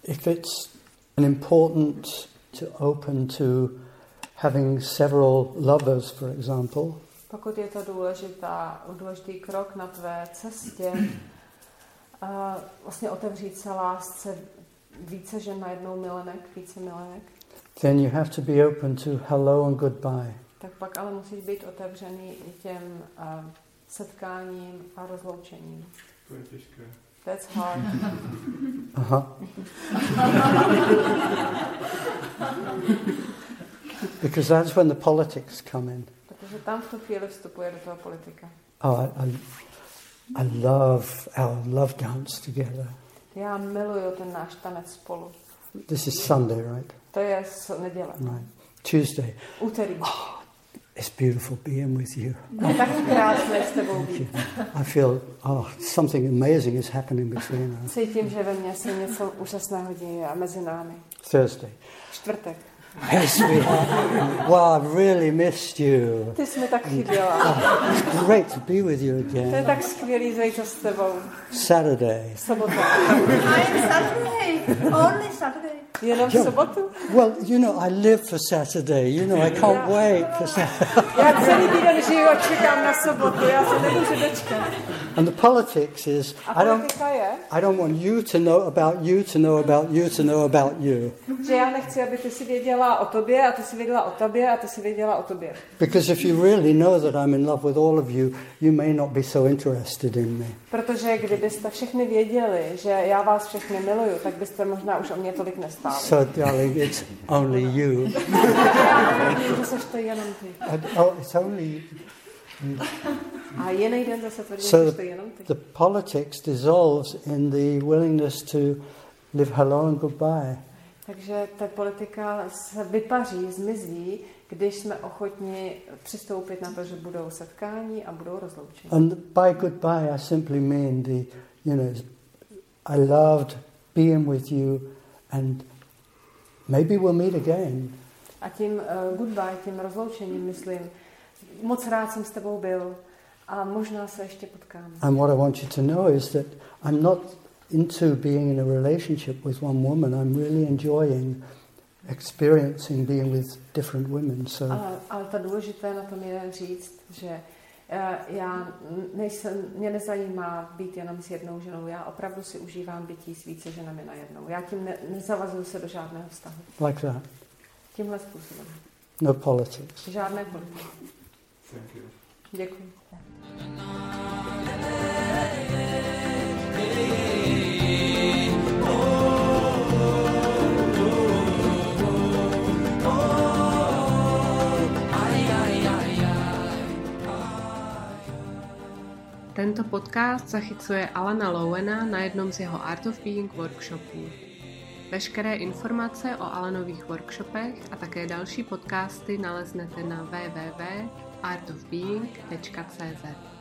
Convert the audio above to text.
if it's important to open to having several lovers, for example, pokud je to důležitý krok na tvé cestě, vlastně otevřít se lásce více žen najednou více milenek, then you have to be open to hello and goodbye. Tak pak ale musíš být otevřený i těm setkáním a rozloučením. To je těžké. That's hard. Aha. Because that's when the politics come in. Protože tam v tu chvíli vstupuje do toho politika. Oh, I love our love dance together. Já miluju ten náš tanec spolu. This is Sunday, right? To je neděle. Right. Tuesday. Úterý. Oh, it's beautiful being with you. Je tak krásné s tebou být. I feel, something amazing is happening between us. Cítím, že ve mně se něco úžasného děje a mezi námi. Thursday. Čtvrtek. Yes, wow, I've really missed you. Ty jsi mi tak chyběla. It's great to be with you again. To je tak skvělý zajít s tebou. Saturday. Sobota. I'm Saturday. Only Saturday. Jenom v sobotu? Well, I live for Saturday. I can't wait for Saturday. Já celý týden žiju a čekám na sobotu. Já se nemůžu dočkat. And the politics is, I don't want you to know about you to know about you to know about you. Že já nechci, aby ty si věděla o tobě a ty si věděla o tobě a ty si věděla o tobě. Because if you really know that I'm in love with all of you, you may not be so interested in me. Protože kdybyste všechny věděli, že já vás všechny miluju, tak byste možná už o mě tolik nestáli. So, darling, it's only you. Že seš to jenom ty. It's only you. A jiný den zase tvrdí, že seš to jenom ty. The politics dissolves in the willingness to live hello and goodbye. Takže ta politika se vypaří, zmizí, když jsme ochotni přistoupit na to, že budou setkání a budou rozloučení. And by goodbye, I simply mean I loved being with you, and maybe we'll meet again. A tím goodbye, tím rozloučením myslím, moc rád jsem s tebou byl a možná se ještě potkáme. And what I want you to know is that I'm not into being in a relationship with one woman. I'm really enjoying experiencing being with different women. Ale to důležité na tom je říct, že mě nezajímá být jenom s jednou ženou. Já opravdu si užívám bytí s více ženami najednou. Já tím nezavazuju se do žádného vztahu. Like that. Tímhle způsobem. No politics. Žádné politiky. Thank you. Děkuji. Tento podcast zachycuje Alana Lowena na jednom z jeho Art of Being workshopů. Veškeré informace o Alanových workshopech a také další podcasty naleznete na www.artofbeing.cz.